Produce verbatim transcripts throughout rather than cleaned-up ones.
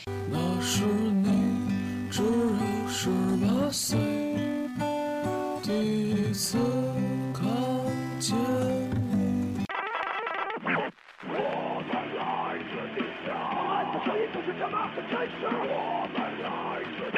那时你只有十八岁，第一次看见你。我们来自地下，这声音就是这么的真实。我们来自。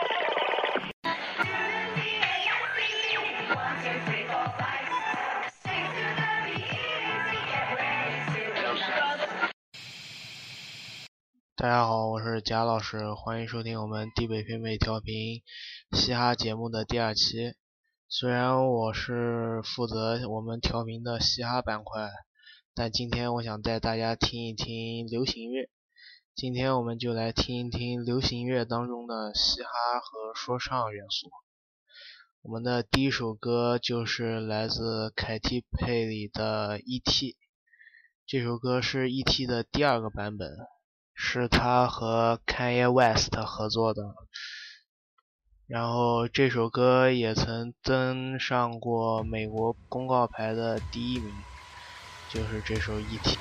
大家好，我是贾老师，欢迎收听我们地北偏北调频嘻哈节目的第二期。虽然我是负责我们调频的嘻哈板块，但今天我想带大家听一听流行乐。今天我们就来听一听流行乐当中的嘻哈和说唱元素。我们的第一首歌就是来自凯蒂佩里的 E T， 这首歌是 E T 的第二个版本，是他和 Kanye West 合作的，然后这首歌也曾登上过美国公告牌的第一名，就是这首 E T。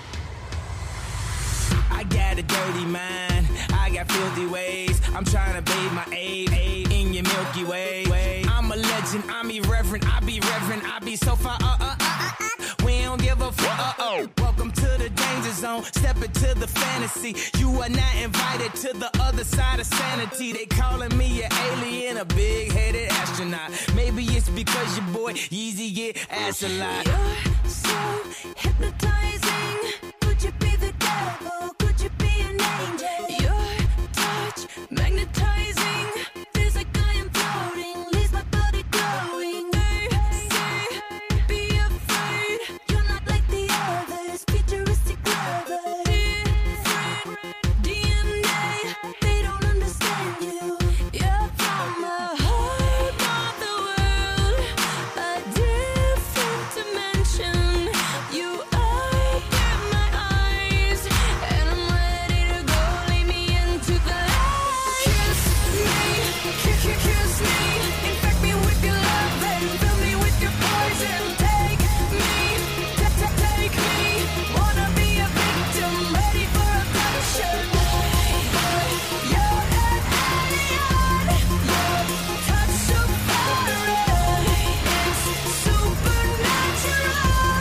I got a dirty mind, I got filthy ways, I'm trying to bathe my aid, aid in your Milky Way. I'm a legend, I'm irreverent, I be reverent, I be so far, uh, uh, uh, uh, we don't give a fuck, uh, oh. Welcome to the danger zone, step into the fantasy. You are not invited to the other side of sanity. They calling me an alien, a big-headed astronaut. Maybe it's because your boy Yeezy get ass a lot. You're so hypnotizing. Could you be the devil? Could you be an angel? Your touch magnetizing. Feels like I am floating. Leaves my body glowing. They say, be afraid. You're not like the others. Futuristic lovers. Different D N A. They don't understand you. You're from a whole other world. A different dimension. You open my eyes, and I'm ready to go. Lead me into the light. Kiss me, kiss, kiss me. Infect me with your love and fill me with your poison. Take me, take me. Wanna be a victim, ready for abduction. You're an alien. Your touch so foreign. It's supernatural.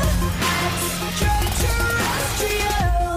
Extraterrestrial.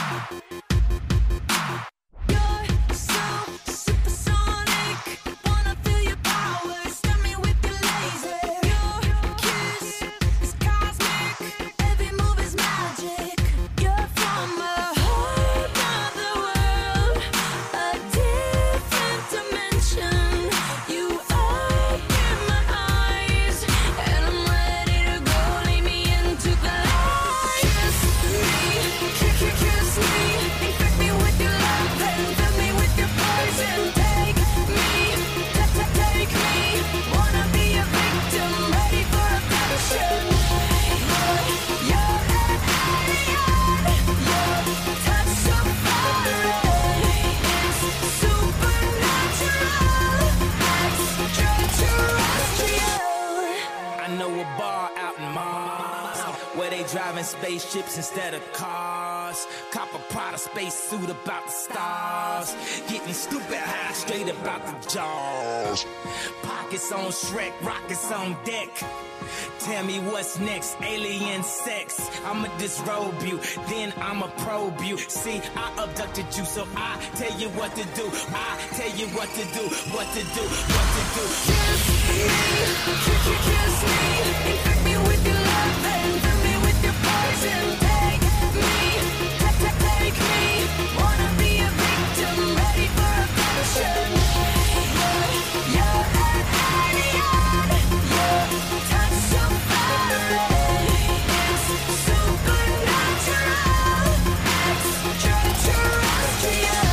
You're so supersonic. Wanna feel your power. Stun me with your laser. Your kiss is cosmic. Every move is magic. You're from a whole other world. A different dimension. You open my eyes, and I'm ready to go. Lead me into the light. Kiss me, kiss me. Infect me with your love and fill me with your poison. Take me, take me. Wanna be a victim, ready for abduction. You're an alien. Your touch so foreign. It's supernatural. Extraterrestrial. I know a bar out in Mars where they driving spaceships instead of cars. Cop a Prada space suit about the stars. Getting stupid high straight about the jaws. Pockets on Shrek, rockets on deck. Tell me what's next, alien sex. I'ma disrobe you, then I'ma probe you. See, I abducted you, so I tell you what to do. I tell you what to do, what to do, what to do. Kiss me, kiss, kiss me. Infect me with your love and fill me with your poison. Take me, take, take me. Wanna be a victim, ready for abduction. You're an alien. Your touch so foreign. It's supernatural. Extraterrestrial.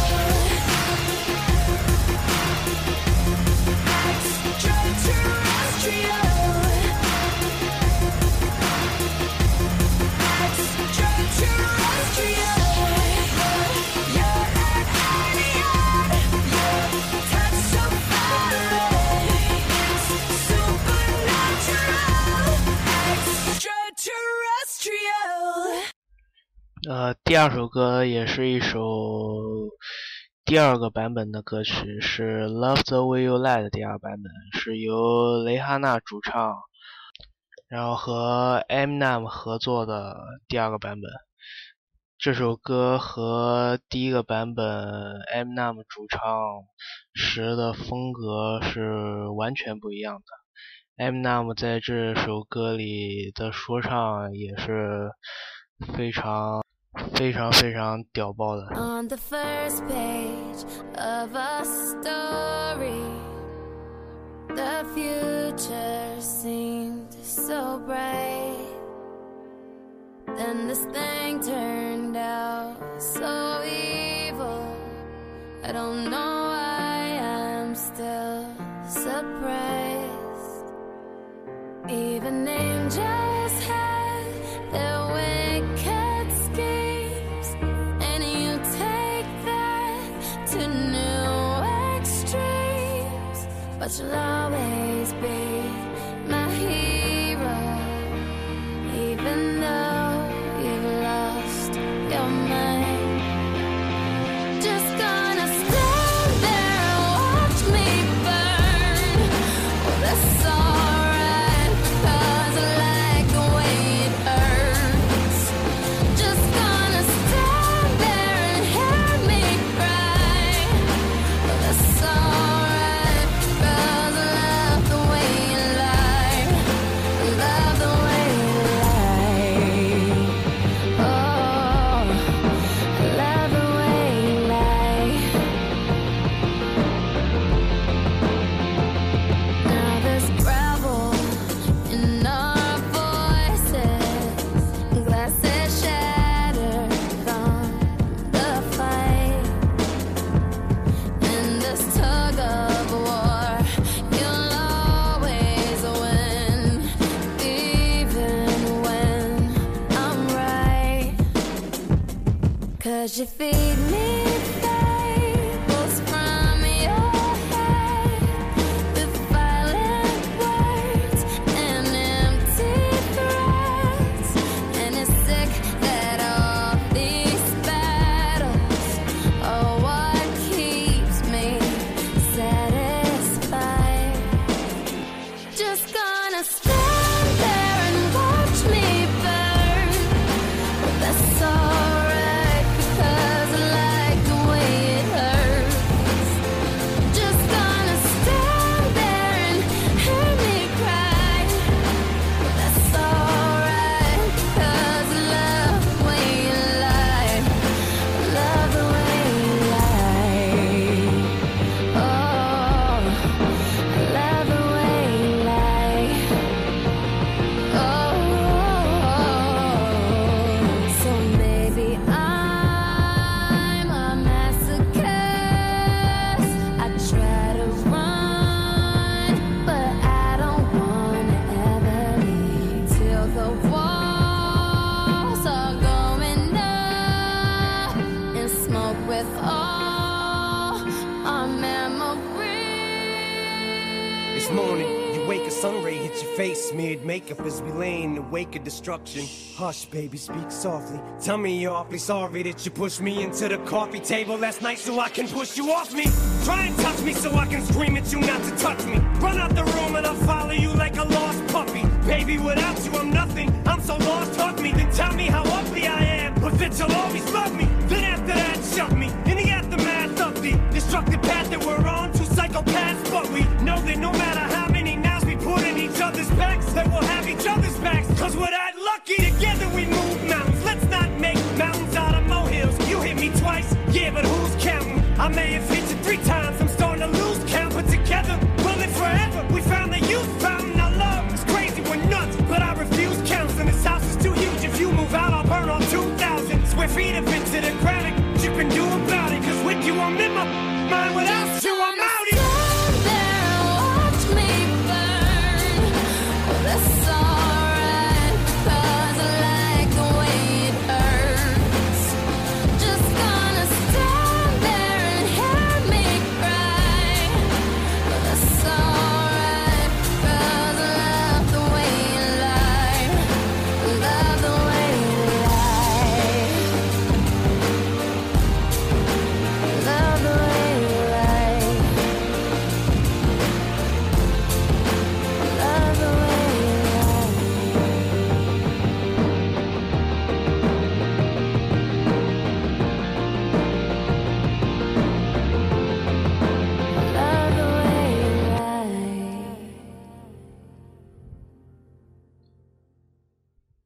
Extraterrestrial. 呃，第二首歌也是一首第二个版本的歌曲是 Love the Way You Lie 的第二版本，是由蕾哈娜主唱，然后和 Eminem 合作的第二个版本。这首歌和第一个版本 Eminem 主唱时的风格是完全不一样的。Eminem 在这首歌里的说唱也是非常非常非常屌爆的。 On the first page of a story, the future seemed so bright. Then this thing turned out so evil. I don't know why I'm still surprised. Even angels had their wicked schemes, and you take that to new extremes. But you'll always be my hero, even though you've lost your mind. Just gonna stand there and watch me burn. Oh, that's alright, 'cause I like the way it hurts. Just gonna stand there and hear me cry. Oh, that's alright, 'cause I love the way you lie. I love the way you lie. Oh, I love the way you lie. Now there's gravel in our voices, glasses shattered from the fight. In this tug of war, you'll always win, even when I'm right. 'Cause you feed me fables from your head, with violent words and empty threats. And it's sick that all these battles are what keeps me satisfied. Just gonna stand there and watch me burn. But that's alright, because I like the way it hurts. Just gonna stand there and hear me cry. But that's alright, 'cause I love the way you lie. I love the way you lie. Oh, I love the way you lie. Oh, so maybe I'm a masochist. I try to run, but I don't wanna ever leave till the walls are going up in smoke with all our memories. This morning, you wake, a sun ray hits your face, smeared makeup as we lay in the wake of destruction. Hush, baby, speak softly. Tell me you're awfully sorry that you pushed me into the coffee table last night so I can push you off me. Try and touch me so I can scream at you not to touch me. Run out the room and I'll follow you like a lost puppy. Baby, without you I'm nothing. I'm so lost, hug me, then tell me how ugly I am, but that you'll always love me. Then after that, shove me in the aftermath of the destructive path that we're on. Two psychopaths, but we know that no matter how many nows we put in each other's backs, that we'll have each other's backs. 'Cause we're that lucky, together we move mountains. Let's not make mountains out of molehills. You hit me twice, yeah, but who's counting? I may have hit you three times, I'm starting to lose count, but together we'll live forever. We found the youth fountain, our love is crazy, we're nuts, but I refuse counseling. This house is too huge, if you move out I'll burn all two thousand square feet of it to the ground. And you can do about it, 'cause with you I'm in my mind, without you I'm out here. Stand there and watch me burn. Oh, that's alright, 'cause I like the way it hurts. Just gonna stand there and hear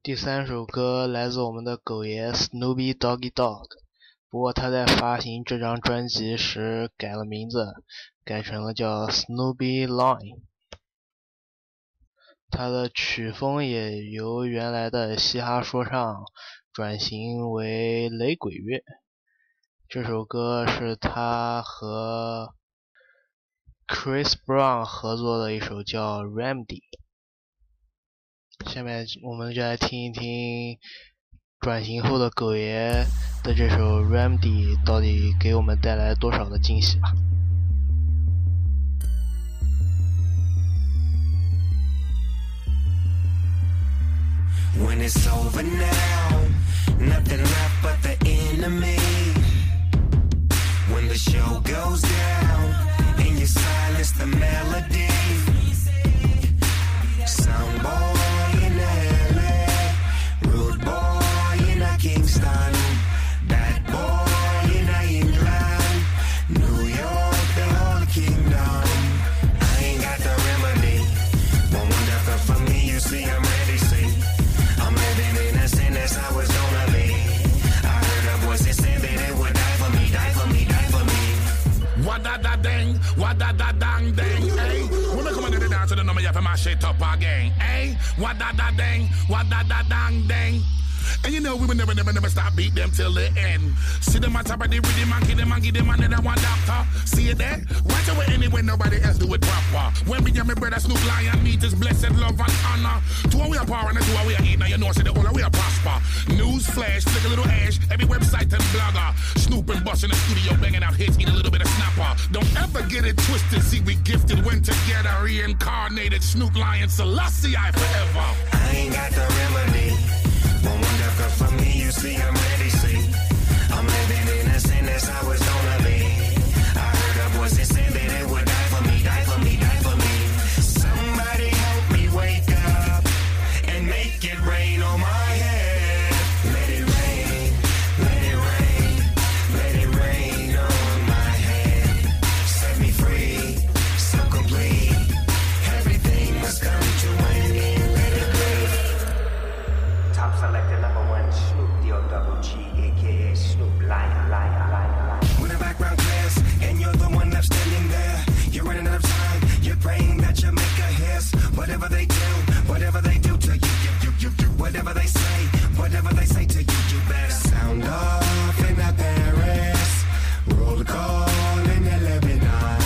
第三首歌来自我们的狗爷 Snoopy Doggy Dogg， 不过他在发行这张专辑时改了名字，改成了叫 Snoopy Lion。 他的曲风也由原来的嘻哈说唱转型为雷鬼乐。这首歌是他和 Chris Brown 合作的一首叫 Remedy。 下面我们就来听一听转型后的狗爷的这首 Remedy 到底给我们带来多少的惊喜吧。 When it's over now, nothing left but the enemy. When the show goes down and you silence the melody, sound boy in L A, rude boy in a Kingston, bad boy in a England, New York, the whole kingdom. I ain't got the remedy, but one death for me, you see I'm ready, see. I'm living in a sin, that's how it's gonna be. I heard a voice that said that it would die for me, die for me, die for me. What da da ding, what da da dang ding, eh? When we come into the dance to the number, you have to mash it up again, eh? What da da ding, what da da dang ding. And you know we will never, never, never stop beat them till the end. See them on top of the rhythm and give them and give them another one doctor. See it there? Watch away anyway, nobody else do it proper. When me and my brother Snoop Lion meet is blessed love and honor. Two we are power and two we are eat. Now you know see the whole we are prosper. News flash, flick a little ash, every website and blogger. Snoop and Bust in the studio banging out hits, eat a little bit of snapper. Don't ever get it twisted, see we gifted when together. Reincarnated Snoop Lion Selassie I forever. I ain't got the remedy. One wonder for me, you see, I'm ready, see. I'm living in a sin, that's how it's gonna be. I heard a voice that said that it would die for me, die for me, die for me. Somebody help me wake up and make it rain on my head. Let it rain, let it rain, let it rain on my head. Set me free, so complete. Everything must come to an end, let it breathe. Top selected number one, Snoop D O double G, aka Snoop Lion, Lion, Lion, Lion. With a background class, and you're the one left standing there. You're running out of time, you're praying that you make a hiss. Whatever they do, whatever they do to you, you, you, you, you. Whatever they say, whatever they say to you, you better sound off in the Paris. Roll call in the Lebanon.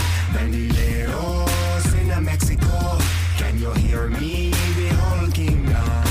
Bandileros in the Mexico. Can you hear me, the whole kingdom?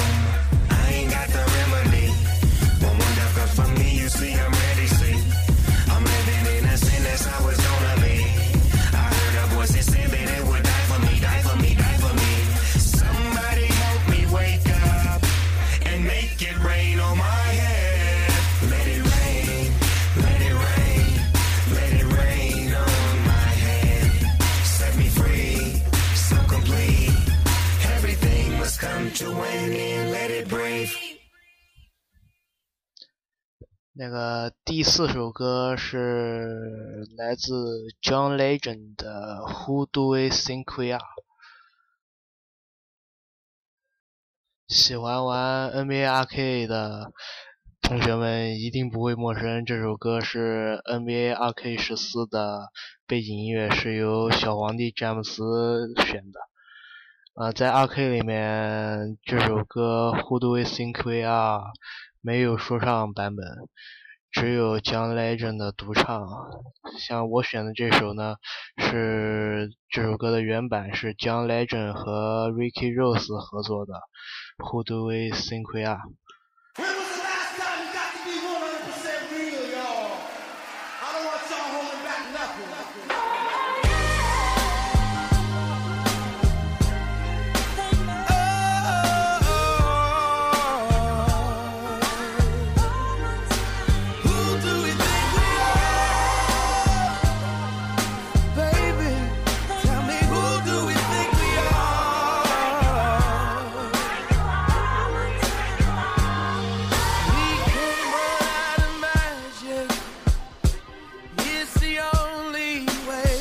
For me, you see, I'm ready, see. I'm living in a sin, that's how it's gonna be. I heard a voice that said that it would die for me, die for me, die for me. Somebody help me wake up and make it rain on my head. Let it rain, let it rain, let it rain on my head. Set me free, so complete. Everything must come to an end, let it breathe. 那个第四首歌是来自 John Legend 的 Who Do We Think We Are。 喜欢玩 N B A Arcade 的同学们一定不会陌生，这首歌是 N B A Arcade 十四的背景音乐，是由小皇帝詹姆斯选的。呃，在 Arcade 里面这首歌 Who Do We Think We Are没有说唱版本，只有 John Legend 的独唱。像我选的这首呢，是这首歌的原版是 John Legend 和 Ricky Ross 合作的 Who Do We Think We Are。 When was the last time you got to be one hundred percent real, y'all? I don't want y'all holding back nothing. Way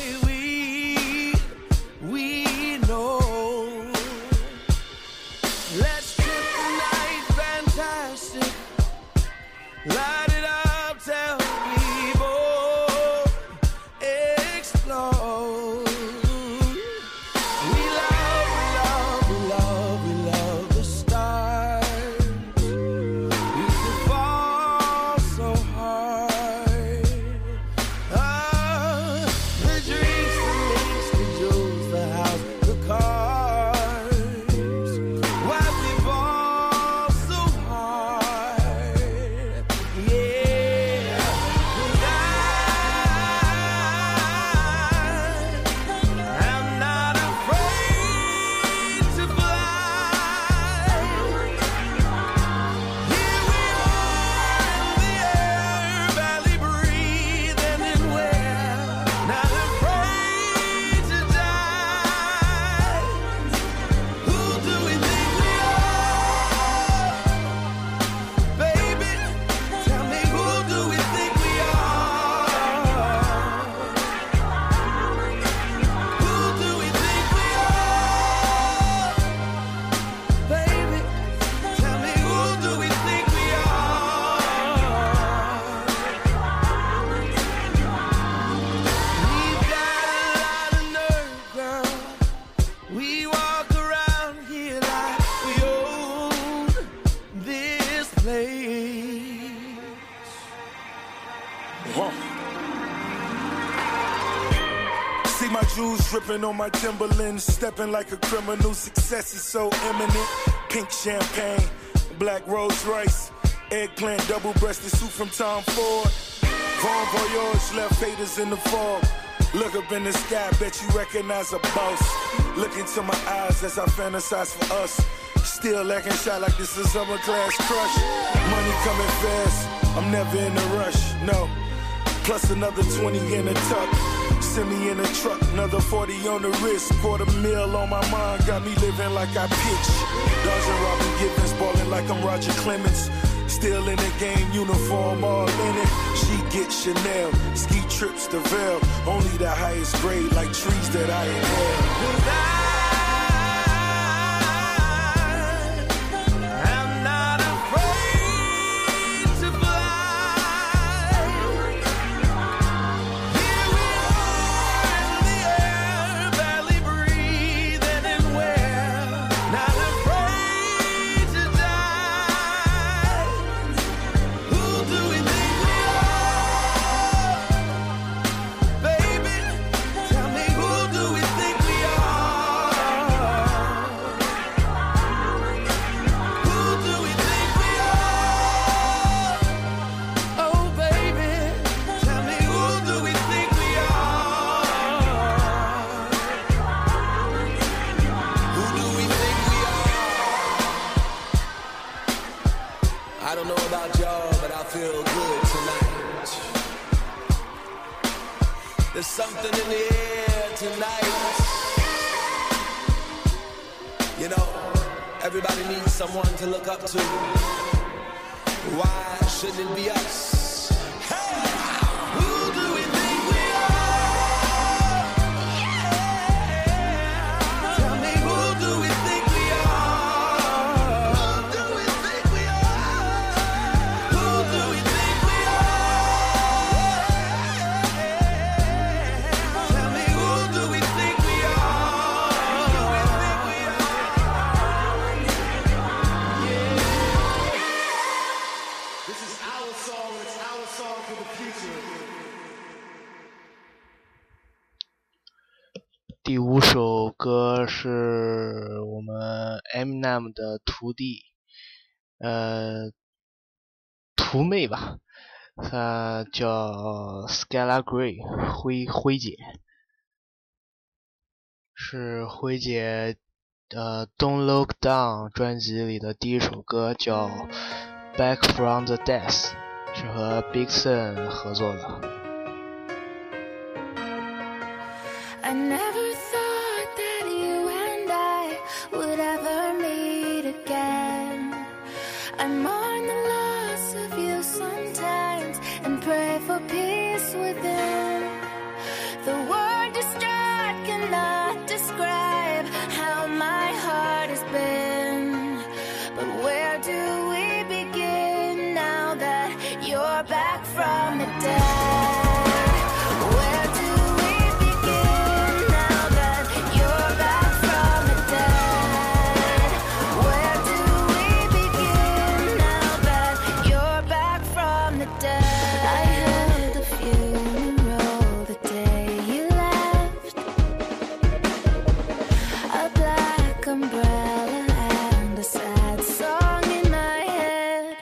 my jewels dripping on my Timberlands, stepping like a criminal. Success is so imminent. Pink champagne, black Rolls Royce, eggplant double-breasted suit from Tom Ford. Bon voyage left haters in the fog. Look up in the sky, bet you recognize a boss. Look into my eyes as I fantasize for us. Still acting shy like this is summer class crush. Money coming fast, I'm never in a rush, no. Plus another twenty in a tuck. Send me in a truck, another forty on the wrist. Quarter mil on my mind, got me living like I pitch. Dodging Robin Givens, balling like I'm Roger Clemens. Still in the game, uniform all in it. She gets Chanel, ski trips to Vail. Only the highest grade, like trees that I inhale. I don't know about y'all, but I feel good tonight. There's something in the air tonight. You know, everybody needs someone to look up to. Why shouldn't it be us? Hey! Who do we think we are? Yeah. Tell me, who do we think we are? Who do we think we are? Who do we think we are? Tell me, who do we think we are? Who do we think we are? This is our song, it's our song for the future. 第五首歌是我们 Eminem 的徒弟，呃，徒妹吧，她叫 Skylar Grey， 辉辉姐，是辉姐呃 Don't Look Down 专辑里的第一首歌，叫 Back from the Death， 是和 Big Sean 合作的。 I never thought that you and I would ever meet again. I mourn the loss of you sometimes and pray for peace within. The word distraught cannot describe how my heart has been. But where do we begin now that you're back from the dead? Where do we begin now that you're back from the dead? Where do we begin now that you're back from the dead? I held a funeral the day you left, a black umbrella and a sad song in my head.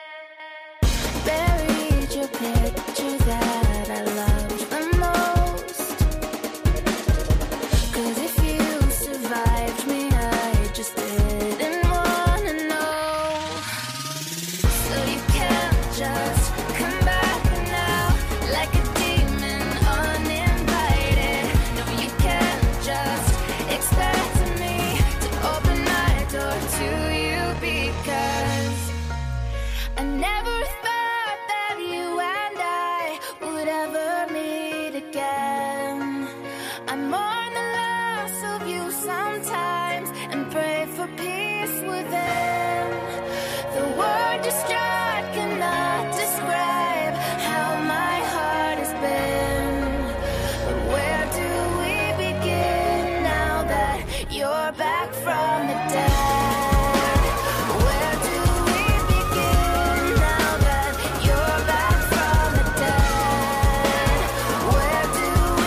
Buried your picture that I loved the most. 'Cause if you survived me, I just didn't wanna know. So you can't just come back now like a demon uninvited. No, you can't just expect me to open my door to you, because I never thought that you and I would ever meet again. I mourn the loss of you sometimes and pray for peace within. The word distraught cannot describe how my heart has been. But where do we begin now that you're back from the dead? Where do we begin now that you're back from the dead? Where do we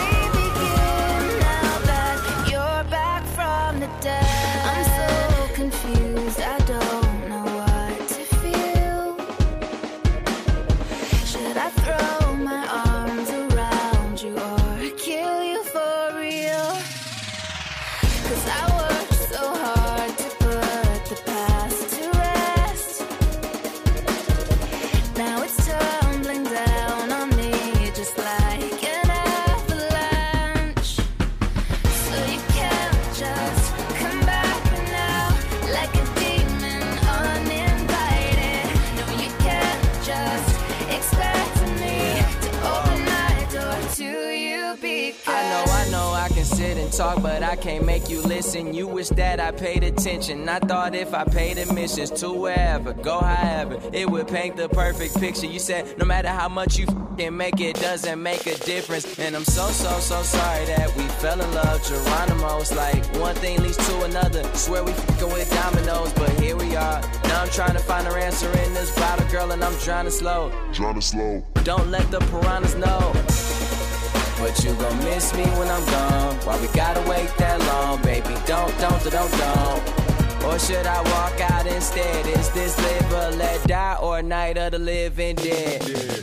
because I know, I know I can sit and talk, but I can't make you listen. You wish that I paid attention. I thought if I paid admissions to wherever, go however, it would paint the perfect picture. You said no matter how much you f***ing make, it doesn't make a difference. And I'm so, so, so sorry that we fell in love. Geronimo's like one thing leads to another. Swear we f***ing with dominoes, but here we are. Now I'm trying to find her answer in this bottle, girl, and I'm drowning slow. Drowning slow. Don't let the piranhas know. But you gon' miss me when I'm gone. Why we gotta wait that long, baby? Don't, don't, don't, don't. Or should I walk out instead? Is this live or let die, or night of the living dead?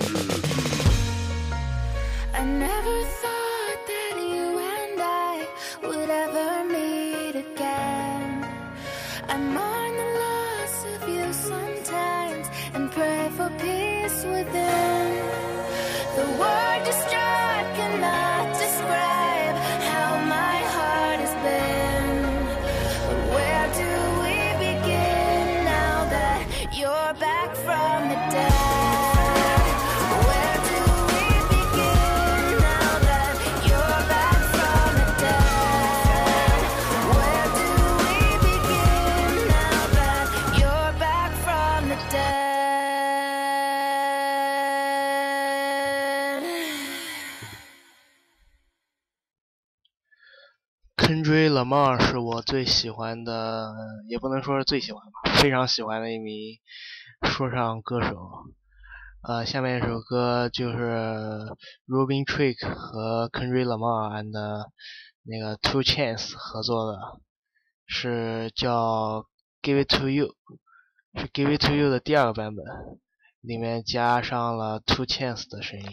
I never thought that you and I would ever meet again. I mourn the loss of you sometimes and pray for peace within. The word distraught cannot describe how my heart has been. But where do we begin now that you're back from the dead? Where do we begin now that you're back from the dead? Where do we begin now that you're back from the dead? Kendrick Lamar 是我最喜欢的，也不能说是最喜欢吧，非常喜欢的一名说唱歌手。呃，下面一首歌就是 Robin Thicke 和 Kendrick Lamar and 那个 Two Chainz 合作的，是叫 Give It To You， 是 Give It To You 的第二个版本，里面加上了 Two Chainz 的声音。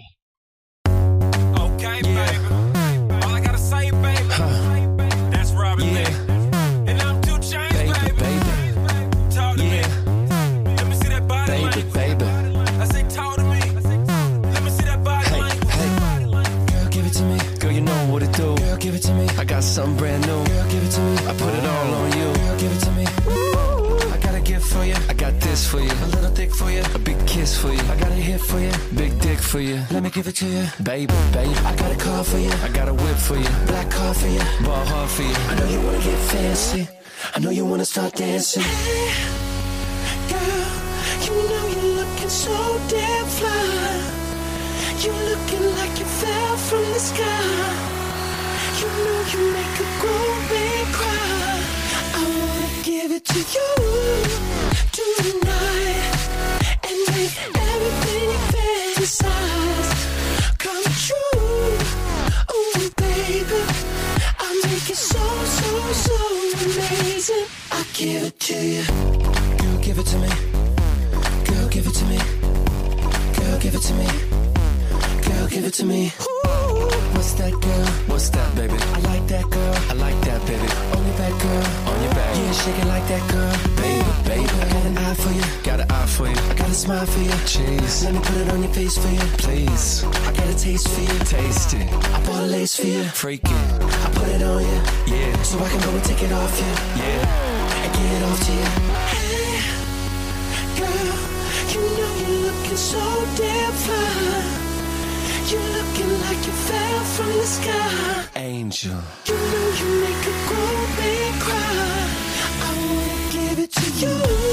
Okay, baby. All I gotta say, baby. That's Robin Thicke. And I'm Two Chainz, baby. Baby. Talk to me. Let me see that body language. Baby, I say talk to me. Let me see that body language. Hey, girl, give it to me. Girl, you know what to do. Girl, give it to me. I got something brand new. Girl, give it to me. I put it all on you. Girl, give it to me. I got a gift for you. I got this for you. A little thick for you. A big kiss for you. I got a hit for you. Big dick for you. Let me give it to you. Baby, baby. I got a car for you. I got a whip for you. Black car for you. Ball hard for you. I know you wanna get fancy. I know you wanna start dancing. Hey, girl, you know you're looking so damn fly. You looking like you fell from the sky. You know you make a grown man cry. I wanna give it to you tonight and make everything you fantasize come true. Oh baby, I'll make it so, so, so amazing. I'll give it to you. Girl, give it to me. Girl, give it to me. Girl, give it to me. Girl, give it to me. Ooh, what's that, girl? What's that, baby? I like that, girl. I like that, baby. On your back, girl. On your back. Yeah, shake it like that, girl. Baby, baby. I got an eye for you. Got an eye for you. I got a smile for you. Cheese. Let me put it on your face for you. Please. I got a taste for you. Taste it. I bought a lace for you. Freak it. I put it on you. Yeah. So I can go and take it off you. Yeah. And get it off to you. Hey, girl, you know you're looking so damn fine. You're looking like you fell from the sky. Angel. You know you make a grown man cry. I wanna give it to you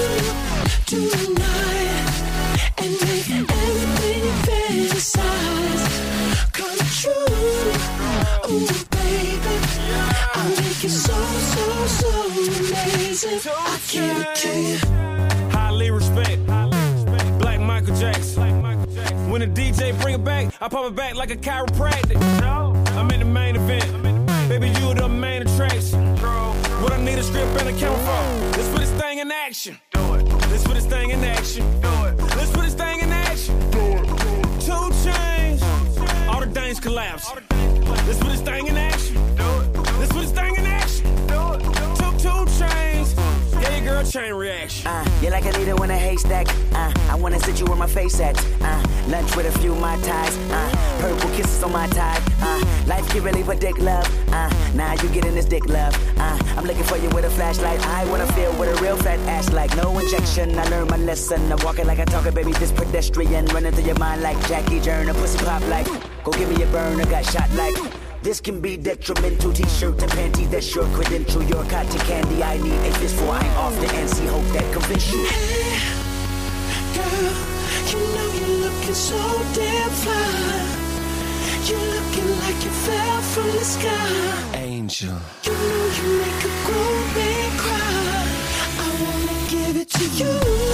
tonight and make everything you fantasize come true. Oh baby, I'll make it so, so, so amazing. I'll give it to you. Highly respect. Black Michael Jackson. When the D J bring it back, I pop it back like a chiropractic. I'm in the main event. Baby, you the main attraction. What I need a script and a camera for. Let's put this thing in action. Do it. Let's put this thing in action. Do it. Let's put this thing in action. Do it. Two Chainz. All the things collapse. Let's put this thing in action. Do it. Let's put this thing in action. Do it. Two, two Chainz. Yeah, girl, chain reaction. Uh, you're like a needle in a haystack. Uh, I wanna sit you where my face at. Uh, lunch with a few Mai Tais. Uh, purple kisses on my tie. Uh, life can really predict love. Uh, now you getting this dick love. Uh, I'm looking for you with a flashlight. I wanna feel what a real fat ass like. No injection. I learned my lesson. I'm walking like I talk it, baby. This pedestrian running through your mind like Jackie Joyner. Pussy pop like. Go give me a burn, I got shot like. This can be detrimental. T-shirt and panties, that's your credential. Your cotton candy, I need a fist for. I'm off the N C, hope that convince you. Hey, girl, you know you're looking so damn fly. You're looking like you fell from the sky. Angel. You know you make a grown man cry. I wanna give it to you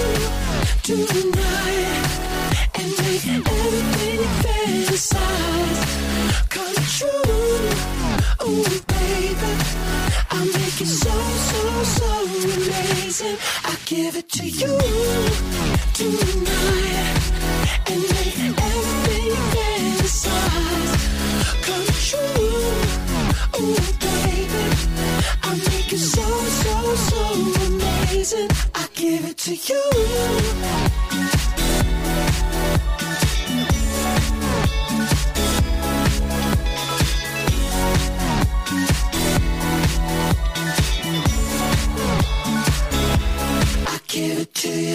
tonight and make everything you fantasize come true. Oh, baby, I'll make it so, so, so amazing. I give it to you tonight and make everything you fantasize come true. Oh, baby, I'll make it so, so, so amazing. I give it to you. Give it to you.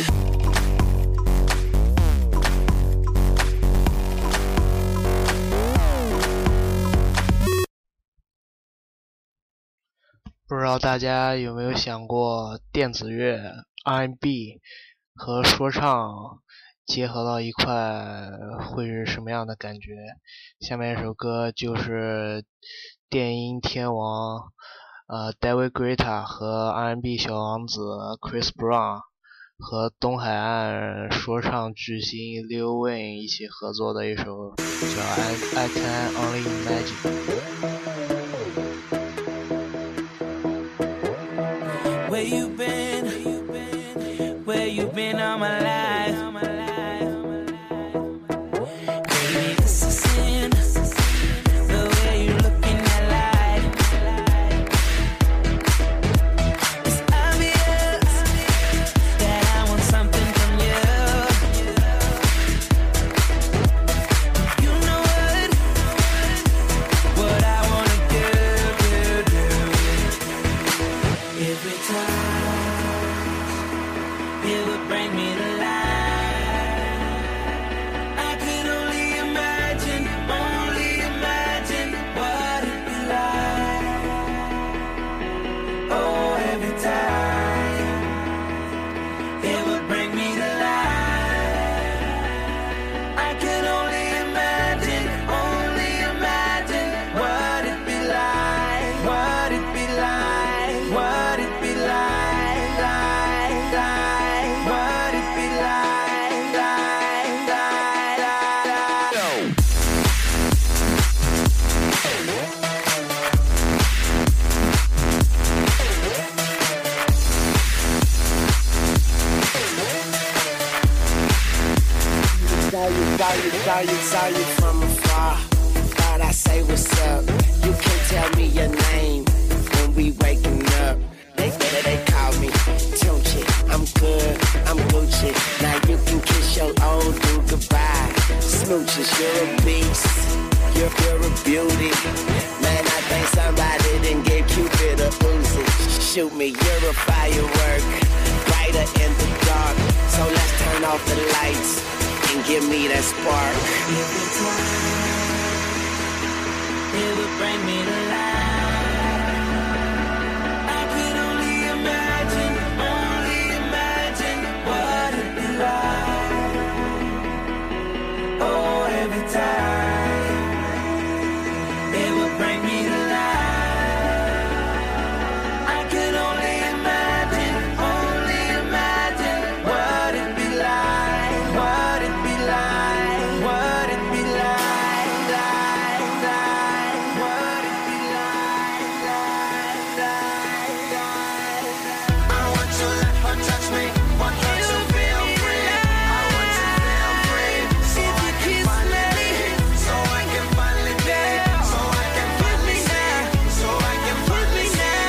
不知道大家有没有想过，电子乐、R and B 和说唱结合到一块会是什么样的感觉？下面一首歌就是电音天王呃 David Guetta 和 R and B 小王子 Chris Brown 和东海岸说唱巨星 Lil Wayne 一起合作的一首叫 I, I Can Only Imagine。Where you been? Where you been all my life? Baby, this is sin. The way you look in that light. It's obvious that I want something from you. You know what? What I wanna do, do, do. Every time.It would bring me to life. I could only imagine, only imagine what it'd be like. Oh, every time it would bring me to life. I could only imagine, only imagine what it'd be like, what it'd be like, what it'd be like.Saw you, saw you, saw you from afar. Thought I say what's up. You can tell me your name when we waking up. They they, they call me Tunchi. I'm good, I'm Gucci. Now you can kiss your old dude goodbye. Smooches, you're a beast. You're, you're a beauty. Man, I think somebody didn't give Cupid a Uzi. Shoot me, you're a firework. Brighter in the dark. So let's turn off the lights.And give me that spark. Every time it would bring me to life. I could only imagine, only imagine what it'd be like. Oh, every time it would bring me to life. I could only imagine, only imagine what it'd be like, what it'd be like.What it be like, like, like, what it be like, like, like, like. I want to let her touch me, want her to feel free. I want to feel free, so I can finally, so I can finally be, so I can finally see, so I can finally see.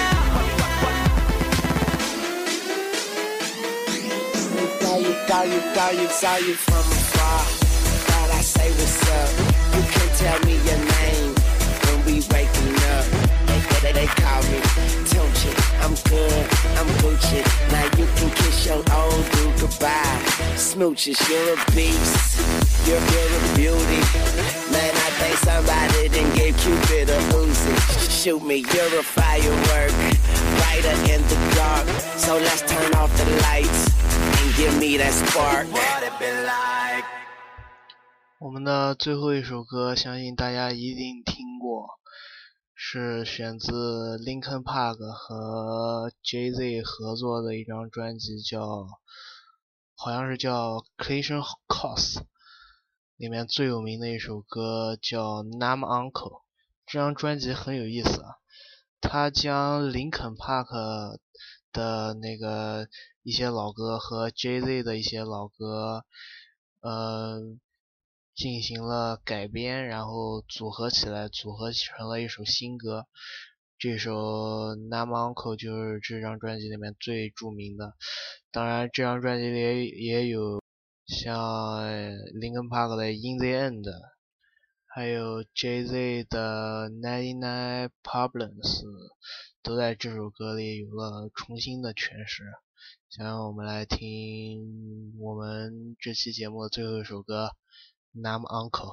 Saw you, saw you, saw you, saw you from afar.Thought I say what's up. You can tell me your name when we waking up. They, they, they call me Tunchi. I'm good, I'm Gucci. Now you can kiss your old dude goodbye. Smooches, you're a beast. You're, you're a beauty. Man, I think somebody then gave Cupid a Uzi. Shoot me, you're a firework, brighter in the dark. So let's turn off the lights and give me that spark. What it been like? 我们的最后一首歌，相信大家一定听过，是选自 Linkin Park 和 Jay-Z 合作的一张专辑，叫好像是叫 Collision Course， 里面最有名的一首歌叫 Numb Uncle。 这张专辑很有意思啊，他将林肯帕克的那个一些老歌和 Jay-Z 的一些老歌呃进行了改编，然后组合起来，组合成了一首新歌。这首 Numb Uncle 就是这张专辑里面最著名的。当然这张专辑里也有像 Linkin Park 的 In the End， 还有 Jay-Z 的ninety-nine Problems 都在这首歌里有了重新的诠释。想让我们来听我们这期节目的最后一首歌 Numb Uncle。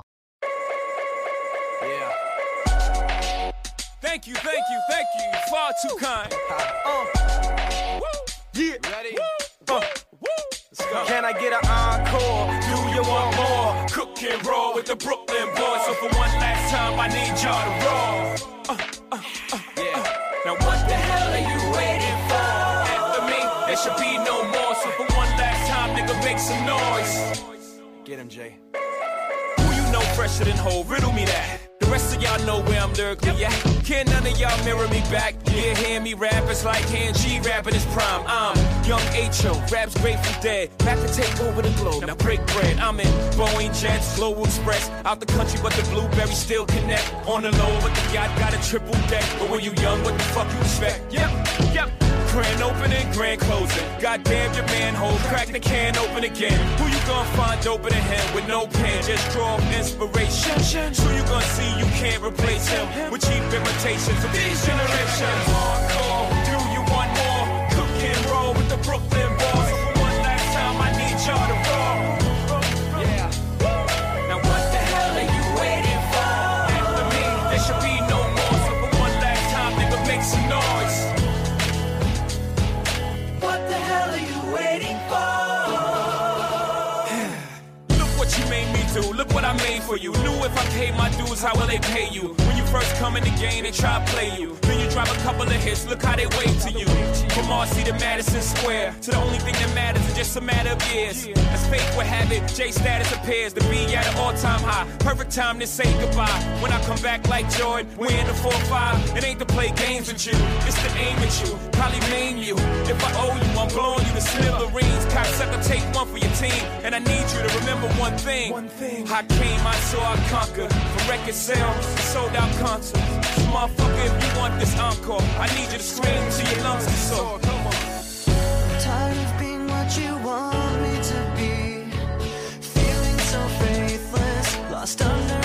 Yeah. Thank you, thank you, thank you. You're far too kind. Uh. Yeah. Ready? Uh. Let's go. Can I get an encore? Do you want more? Cook and roll with the Brooklyn boys. So for one last time, I need y'all to roll. Uh, uh, uh, yeah. Uh. Now what the hell are you waiting for? After me, there should be no more. So for one last time, nigga, make some noise. Get him, Jay. Who you know fresher than Ho? Riddle me that. The rest of y'all know where I'm lyrically at. Can none of y'all mirror me back? Yeah, hear me rap, it's like hearing G rap in his prime. I'm Young H O, raps Grateful Dead, back to take over the globe. Now break bread, I'm in Boeing Jets, Global Express. Out the country, but the blueberries still connect. On the low, but the yacht got a triple deck. But when you young, what the fuck you expect? Yep, yep. Grand opening, grand closing. Goddamn your manhole, crack the can open again. Who you gonna find open in him with no pen? Just draw inspiration. Who you gonna see you can't replace him with cheap imitations of these generations? Hardcore, do you want more? Cook and roll with the Brooklyn boys. So for one last time, I need y'all to roll. Yeah. Now what the hell are you waiting for? After me, there should be no more. So for one last time, nigga, make some noise. What the hell are you waiting for? Look what you made me do, look what I made for you. Knew if I paid my dues, how will they pay you? When you first come in the game, they try to play you. Then you drop a couple of hits, look how they wave to you. From Marcy to Madison Square, to the only thing that matters is just a matter of years. As fate would have it, J status appears to be at an all-time high. Perfect time to say goodbye. When I come back like Jordan, we're in the four five. It ain't to play games with you, it's to aim at you, probably maim you. If I owe you, I'm blowing you to smithereens. Cocksucker, take one for your team, and I need you to remember one thing. One thing. I came, I saw, I conquered. From record sales, sold out concerts. So motherfucker, if you want this encore, I need you to scream till your lungs are sore. Come on. Tired of being what you want me to be, feeling so faithless, lost under